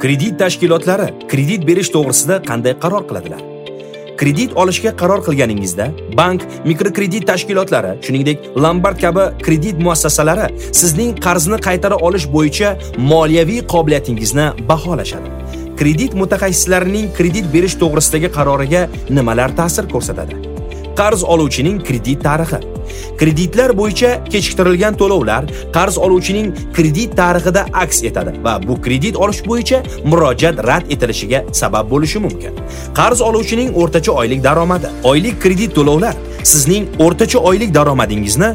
Kredit tashkilotlari kredit berish to'g'risida qanday qaror qiladilar? Kredit olishga qaror qilganingizda, bank, mikrokredit tashkilotlari, shuningdek, Lombard kabi kredit muassasalari sizning qarzni qaytara olish bo'yicha moliyaviy qobiliyatingizni baholashadi. Kredit mutaxassislarining kredit berish to'g'risidagi qaroriga nimalar ta'sir ko'rsatadi? Qarz oluvchining kredit tarixi. Kreditlar bo'yicha kechiktirilgan to'lovlar qarz oluvchining kredit tarixida aks etadi va bu kredit olish bo'yicha murojaat rad etilishiga sabab bo'lishi mumkin. Qarz oluvchining o'rtacha oylik daromadi. Oylik kredit to'lovlar sizning o'rtacha oylik daromadingizni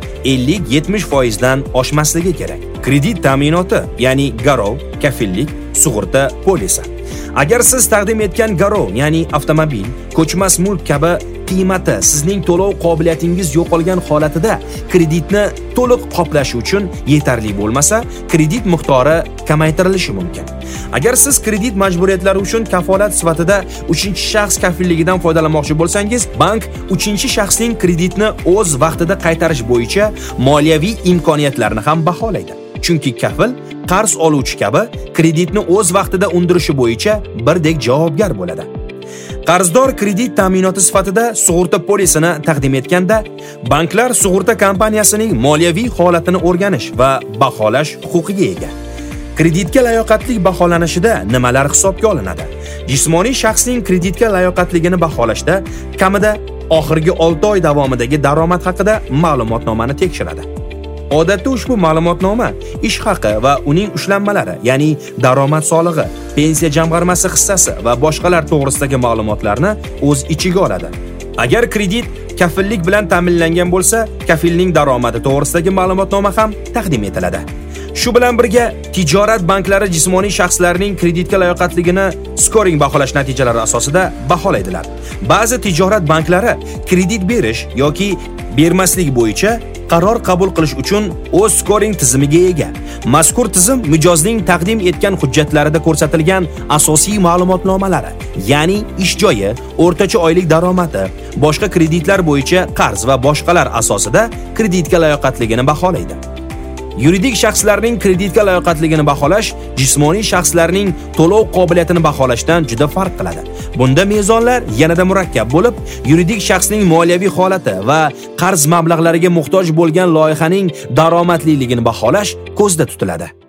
50-70% dan oshmasligi kerak. Kredit ta'minoti, ya'ni garov, kafillik, sug'urta polisi. Agar siz taqdim etgan garov, ya'ni avtomobil, ko'chmas mulk kabi qiymati sizning to'lov qobiliyatingiz yo'qolgan holatida kreditni to'liq qoplash uchun yetarli bo'lmasa, kredit miqdori kamaytirilishi mumkin. Agar siz kredit majburiyatlari uchun kafolat sifatida 3-shaxs kafilligidan foydalanmoqchi bo'lsangiz, bank 3-shaxsning kreditni o'z vaqtida qaytarish bo'yicha moliyaviy imkoniyatlarni ham baholaydi. Chunki kafil qarz oluvchi kabi kreditni o'z vaqtida undirishi bo'yicha birdek javobgar bo'ladi. Qarzdor kredit ta'minoti sifatida sug'urta polisini taqdim etganda, banklar sug'urta kompaniyasining moliyaviy holatini o'rganish va baholash huquqiga ega. Kreditga layoqatlik baholanishida nimalar hisobga olinadi? Jismoniy shaxsning kreditga layoqatligini baholashda kamida oxirgi 6 oy davomidagi daromad haqida ma'lumotnomani tekshiradi. Odatda ushbu ma'lumotnoma ish haqi va uning ushlanmalari, ya'ni daromad solig'i, pensiya jamg'armasi hissasi va boshqalar to'g'risidagi ma'lumotlarni o'z ichiga oladi. Agar kredit kafillik bilan ta'minlangan bo'lsa, kafilning daromadi to'g'risidagi ma'lumotnoma ham taqdim etiladi. Shu bilan birga, tijorat banklari jismoniy shaxslarning kreditga layoqatligini skoring baholash natijalari asosida baholaydilar. Ba'zi tijorat banklari kredit berish yoki bermaslik bo'yicha qaror qabul qilish uchun o'z skoring tizimiga ega. Mazkur tizim mijozning taqdim etgan hujjatlarida ko'rsatilgan asosiy ma'lumotnomalari, ya'ni ish joyi, o'rtacha oylik daromadi, boshqa kreditlar bo'yicha qarz va boshqalar asosida kreditga layoqatligini baholaydi. Yuridik shaxslarning kreditga layoqatligini baholash jismoniy shaxslarning to'lov qobiliyatini baholashdan juda farq qiladi. Bunda mezonlar yanada murakkab bo'lib, yuridik shaxsning moliyaviy holati va qarz mablag'lariga muhtoj bo'lgan loyihaning daromadliligini baholash ko'zda tutiladi.